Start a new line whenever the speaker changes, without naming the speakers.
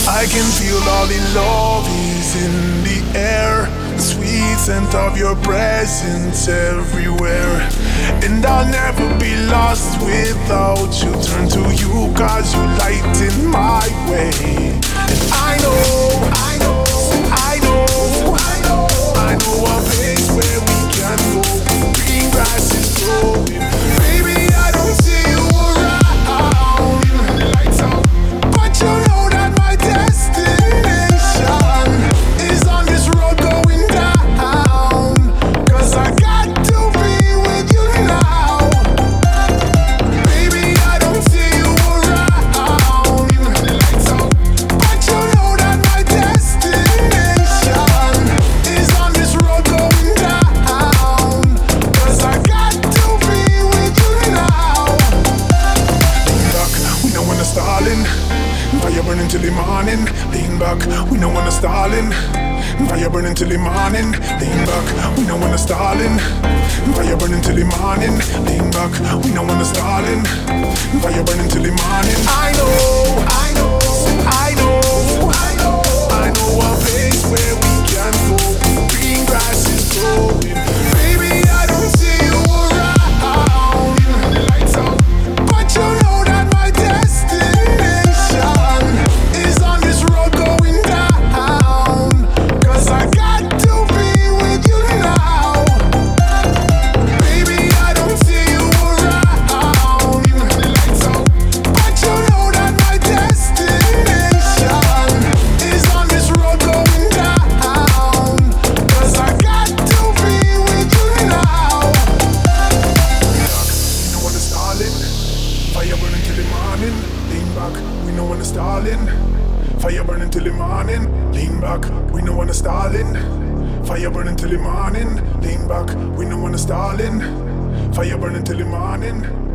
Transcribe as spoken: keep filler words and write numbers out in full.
I can feel all the love is in the air, the sweet scent of your presence everywhere. And I'll never be lost without you. Turn to you cause you lighten my way. And I know, I know, I know, I know, I know a place where we can go. Green grass is growing. Baby, I don't see you around. Lights out, but you know that my destination is on this road going down. Cause I got to be with you now. Baby, I don't see you around. Lights out, but you know that my destination is on this road going down. Cause I got to be with you now. Lean back, we know when to stalling. Fire burning till the morning. Lean back, we know when to stalling. Fire burning till the morning. Lean back, we know when to stalling. Fire burning till the morning. Lean back, we know when to stalling. Fire burning till the morning. I know, I know, I know, I know, I know a place where we can go. Green grass is growing. Baby, I don't see you around. Lights out, but you know that my destination is on this road going down. Cause I got to be with you now. Baby, I don't see you around. Lights out, but you know that my destination is on this road going down. Cause I got to be with you now. We know when it's stalling. Fire burning till the morning. Lean back, we know when it's stalling. Fire burning till the morning. Lean back, we know when it's stalling. Fire burning till the morning. Lean back, we know when it's stalling. Fire burning till the morning.